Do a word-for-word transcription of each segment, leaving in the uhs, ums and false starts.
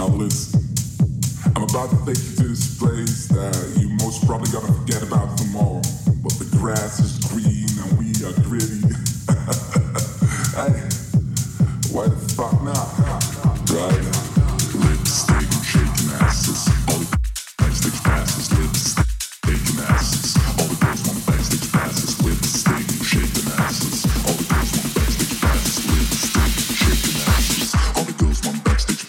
Now listen, I'm about to take you to this place that you most probably gonna forget about tomorrow. But the grass is green and we are gritty. Hey, why the fuck not? Right? Lipstick shaking asses. All the backstage passes. Lipstick shaking asses. All the girls want backstage passes. Lipstick shaking asses. All the girls want backstage passes. Lipstick shaking asses. All the girls want backstage.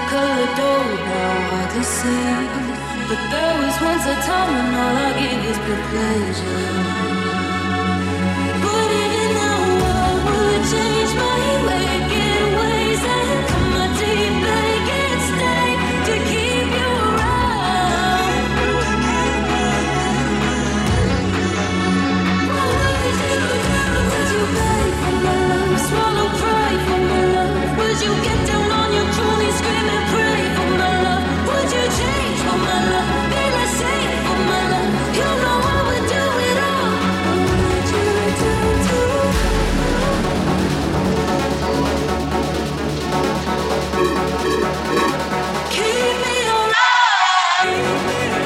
color don't now hard to see. But there was once a time when all I gave was pure pleasure. But even now I would change my waking ways and come my deep lake and stay to keep you around. What would you do? Would you beg for my love? Swallow pride for my love? Would you get down on your knees, scream and pray for my love? Would you change for my love? Be less safe for my love? You know I would do it all. What would you do too? Keep me alive.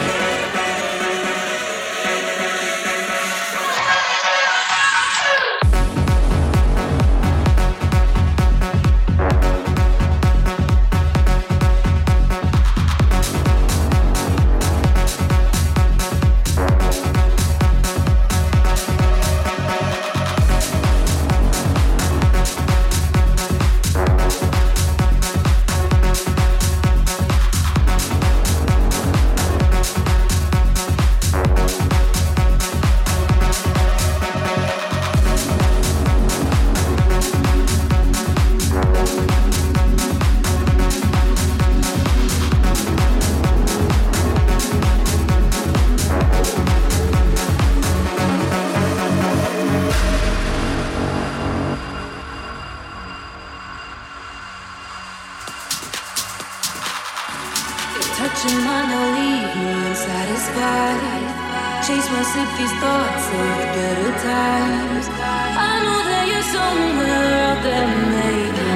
Touching mine, I'll leave me unsatisfied. Chase my sick, thoughts of better times. I know that you're somewhere out there, maybe.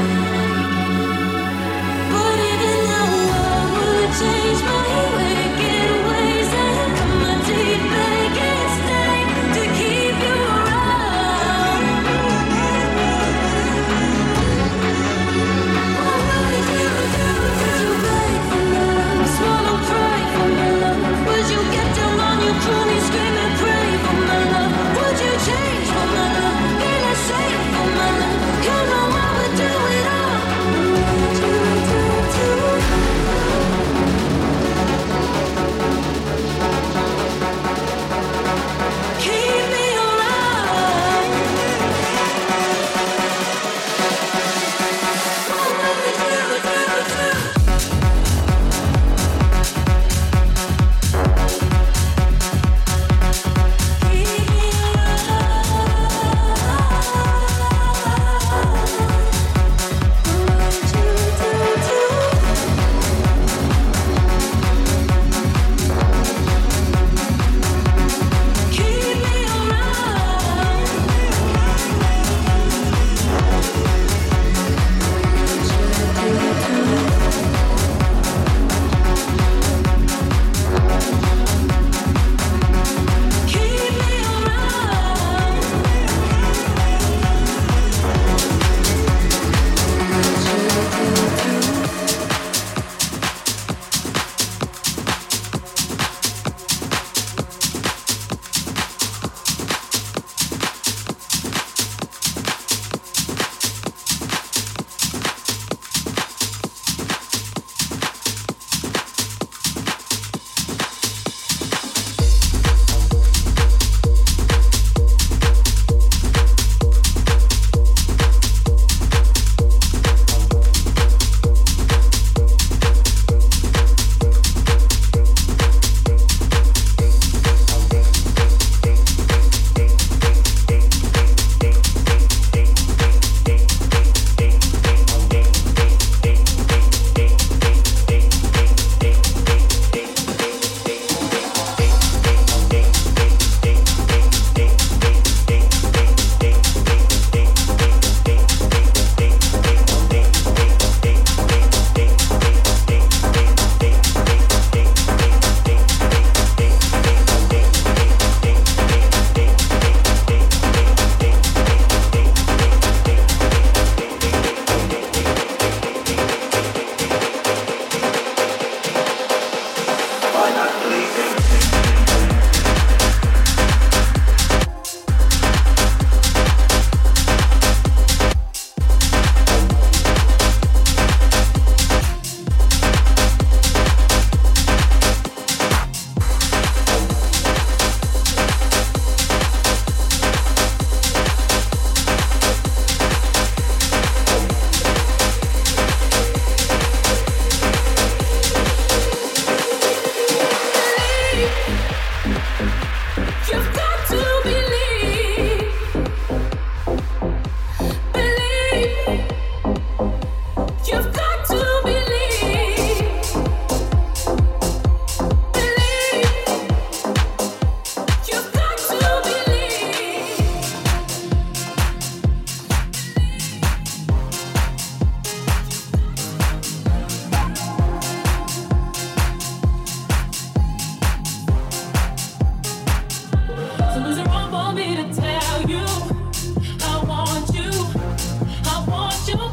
But even now I would change my wicked ways and come my deep back and stay to keep you around. What would you do? Would you beg for my love? Swallow pride for my love? Would you get down on your knees, scream and pray for my love? Would you change for my love? Be less safe for my love? You know I would You've got to believe, believe. You've got to believe. So is it wrong for me to tell you I want you, I want you?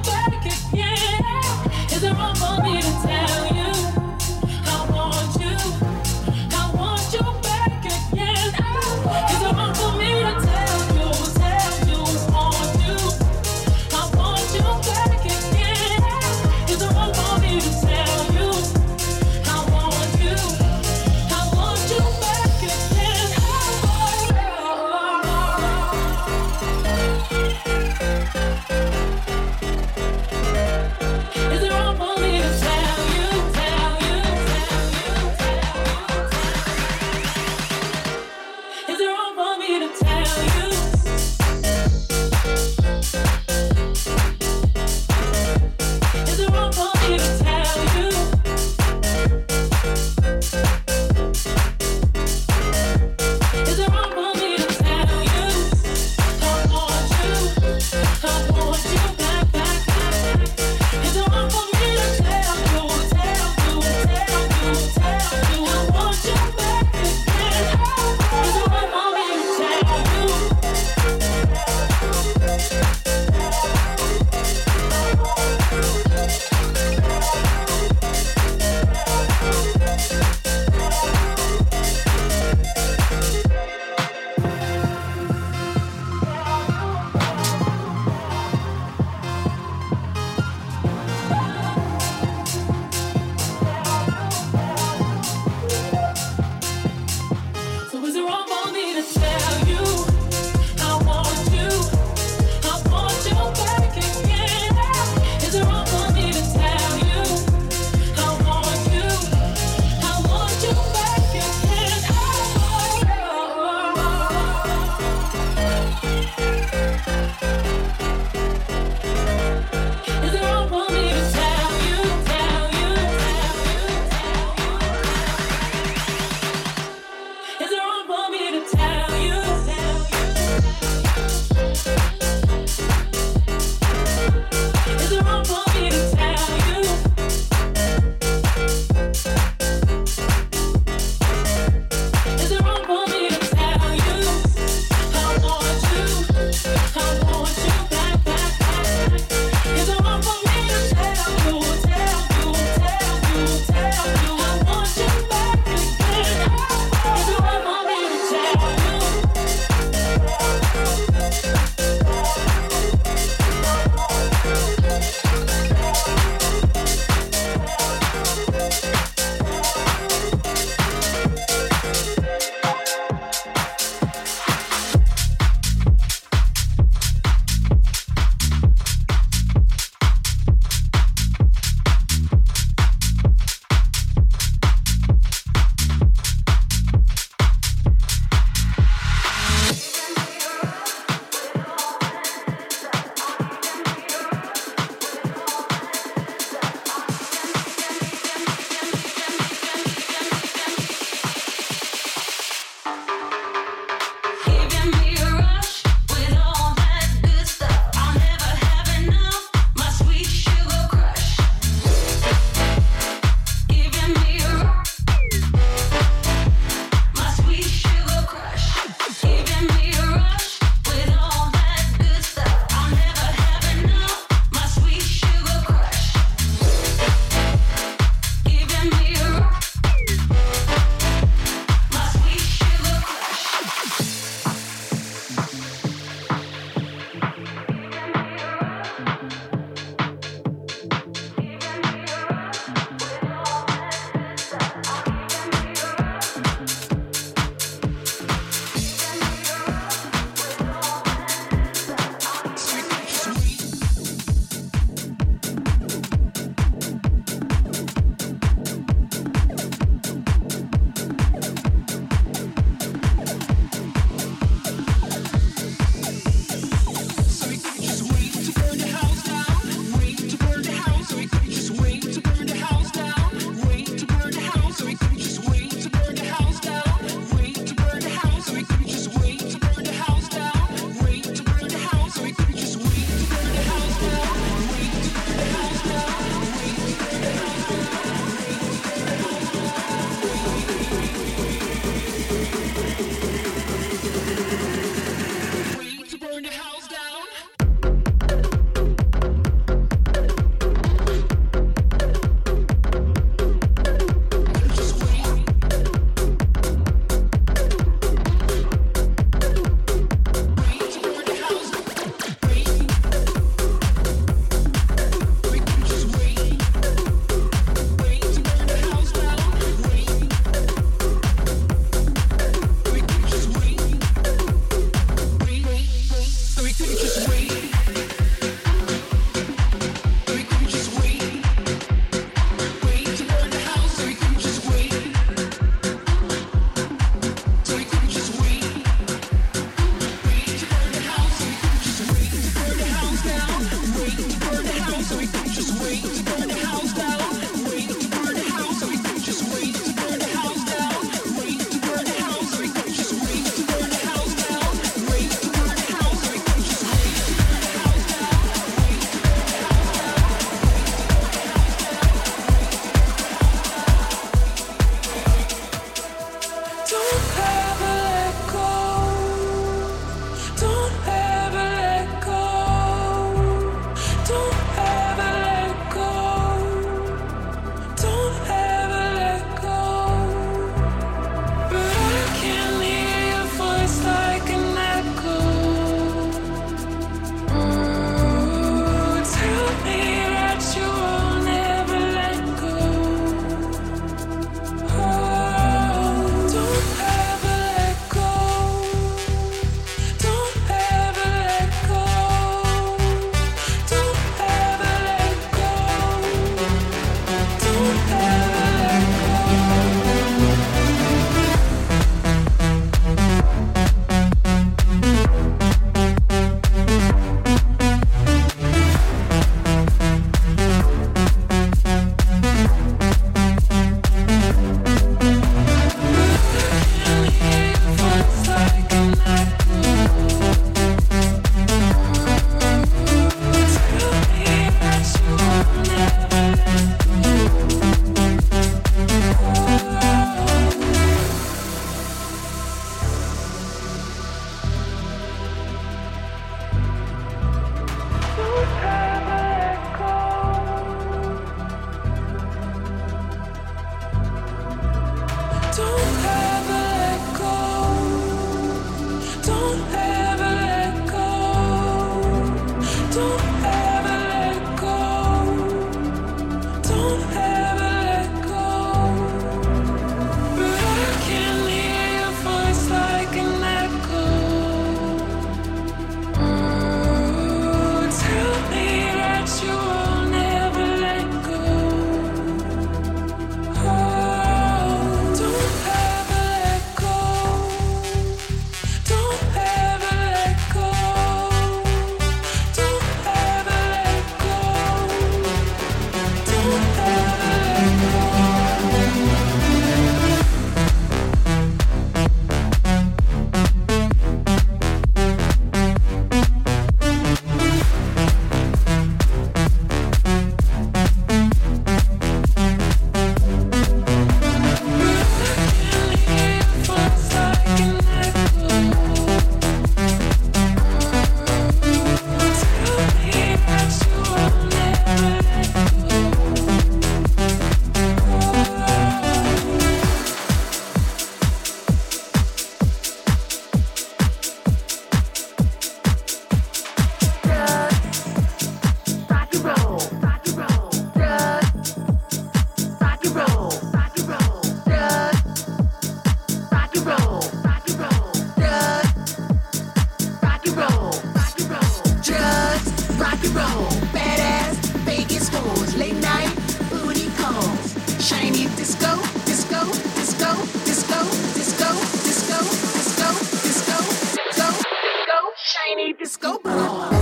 and roll. Badass Vegas hoes, late night booty calls. Shiny disco, disco, disco, disco, disco, disco, disco, disco, disco, disco, shiny disco ball.